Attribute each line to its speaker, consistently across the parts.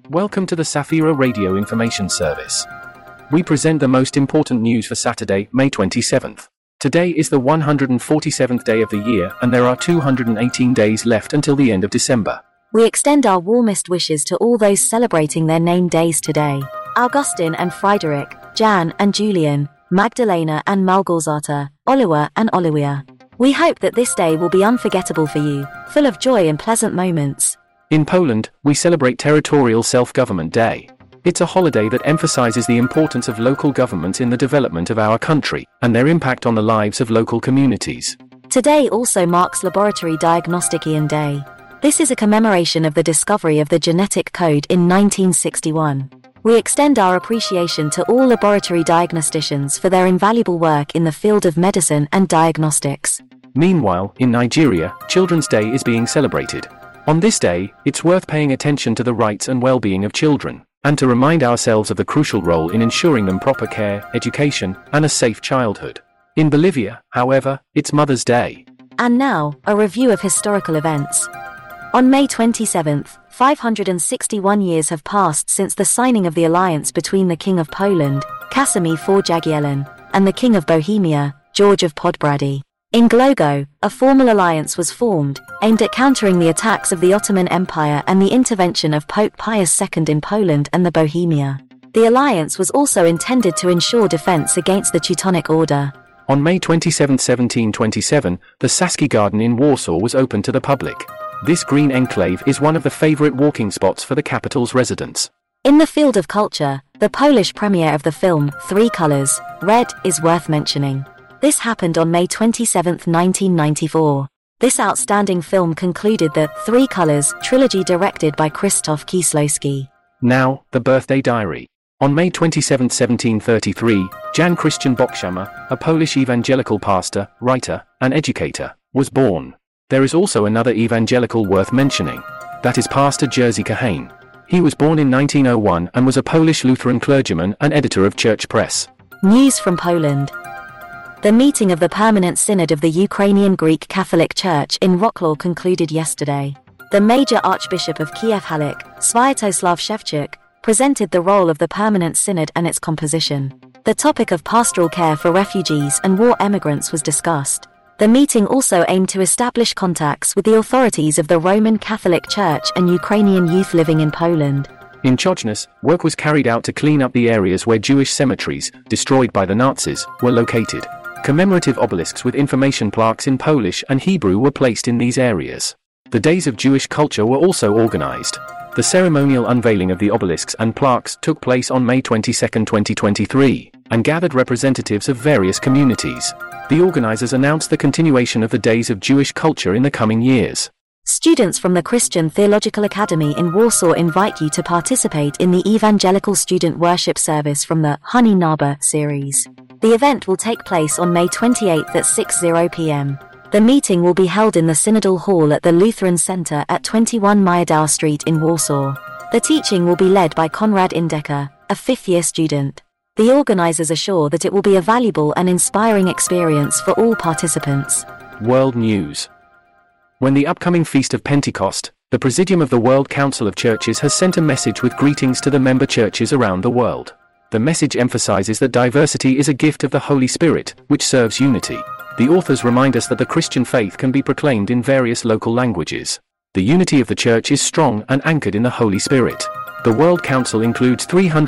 Speaker 1: Welcome to the Safira Radio Information Service. We present the most important news for Saturday, May 27th. Today is the 147th day of the year, and there are 218 days left until the end of December.
Speaker 2: We extend our warmest wishes to all those celebrating their name days today. Augustine and Friedrich, Jan and Julian, Magdalena and Malgorzata, Oliver and Olivia. We hope that this day will be unforgettable for you, full of joy and pleasant moments.
Speaker 1: In Poland, we celebrate Territorial Self-Government Day. It's a holiday that emphasizes the importance of local governments in the development of our country, and their impact on the lives of local communities.
Speaker 2: Today also marks Laboratory Diagnosticien Day. This is a commemoration of the discovery of the genetic code in 1961. We extend our appreciation to all laboratory diagnosticians for their invaluable work in the field of medicine and diagnostics.
Speaker 1: Meanwhile, in Nigeria, Children's Day is being celebrated. On this day, it's worth paying attention to the rights and well-being of children, and to remind ourselves of the crucial role in ensuring them proper care, education, and a safe childhood. In Bolivia, however, it's Mother's Day.
Speaker 2: And now, a review of historical events. On May 27th, 561 years have passed since the signing of the alliance between the King of Poland, Casimir IV Jagiellon, and the King of Bohemia, George of Podbrady. In Głogow, a formal alliance was formed, aimed at countering the attacks of the Ottoman Empire and the intervention of Pope Pius II in Poland and the Bohemia. The alliance was also intended to ensure defense against the Teutonic Order.
Speaker 1: On May 27, 1727, the Saski Garden in Warsaw was opened to the public. This green enclave is one of the favorite walking spots for the capital's residents.
Speaker 2: In the field of culture, the Polish premiere of the film, Three Colors, Red, is worth mentioning. This happened on May 27, 1994. This outstanding film concluded the Three Colors trilogy directed by Krzysztof Kieślowski.
Speaker 1: Now, the birthday diary. On May 27, 1733, Jan Christian Bokszama, a Polish evangelical pastor, writer, and educator, was born. There is also another evangelical worth mentioning. That is Pastor Jerzy Kahane. He was born in 1901 and was a Polish Lutheran clergyman and editor of Church Press.
Speaker 2: News from Poland. The meeting of the Permanent Synod of the Ukrainian Greek Catholic Church in Wrocław concluded yesterday. The Major Archbishop of Kiev-Halik, Sviatoslav Shevchuk, presented the role of the Permanent Synod and its composition. The topic of pastoral care for refugees and war emigrants was discussed. The meeting also aimed to establish contacts with the authorities of the Roman Catholic Church and Ukrainian youth living in Poland.
Speaker 1: In Chochnus, work was carried out to clean up the areas where Jewish cemeteries, destroyed by the Nazis, were located. Commemorative obelisks with information plaques in Polish and Hebrew were placed in these areas. The Days of Jewish Culture were also organized. The ceremonial unveiling of the obelisks and plaques took place on May 22, 2023, and gathered representatives of various communities. The organizers announced the continuation of the Days of Jewish Culture in the coming years.
Speaker 2: Students from the Christian Theological Academy in Warsaw invite you to participate in the Evangelical Student Worship Service from the Honey Naba series. The event will take place on May 28 at 6:00 p.m. The meeting will be held in the Synodal Hall at the Lutheran Center at 21 Miodow Street in Warsaw. The teaching will be led by Konrad Indecker, a fifth-year student. The organizers assure that it will be a valuable and inspiring experience for all participants.
Speaker 1: World News. When the upcoming Feast of Pentecost, the Presidium of the World Council of Churches has sent a message with greetings to the member churches around the world. The message emphasizes that diversity is a gift of the Holy Spirit, which serves unity. The authors remind us that the Christian faith can be proclaimed in various local languages. The unity of the Church is strong and anchored in the Holy Spirit. The World Council includes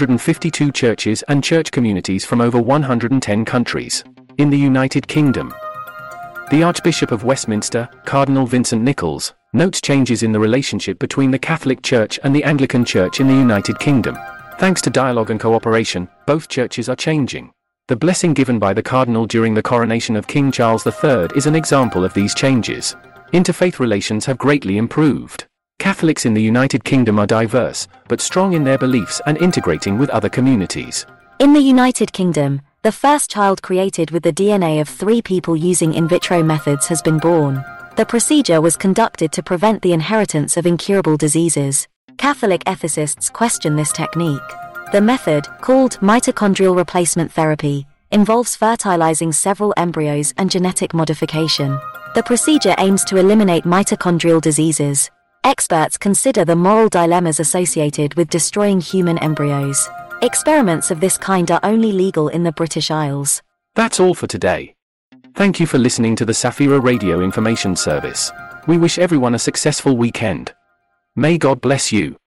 Speaker 1: 352 churches and church communities from over 110 countries. In the United Kingdom, the Archbishop of Westminster, Cardinal Vincent Nichols, notes changes in the relationship between the Catholic Church and the Anglican Church in the United Kingdom. Thanks to dialogue and cooperation, both churches are changing. The blessing given by the Cardinal during the coronation of King Charles III is an example of these changes. Interfaith relations have greatly improved. Catholics in the United Kingdom are diverse, but strong in their beliefs and integrating with other communities.
Speaker 2: In the United Kingdom, the first child created with the DNA of 3 people using in vitro methods has been born. The procedure was conducted to prevent the inheritance of incurable diseases. Catholic ethicists question this technique. The method, called mitochondrial replacement therapy, involves fertilizing several embryos and genetic modification. The procedure aims to eliminate mitochondrial diseases. Experts consider the moral dilemmas associated with destroying human embryos. Experiments of this kind are only legal in the British Isles.
Speaker 1: That's all for today. Thank you for listening to the Safira Radio Information Service. We wish everyone a successful weekend. May God bless you.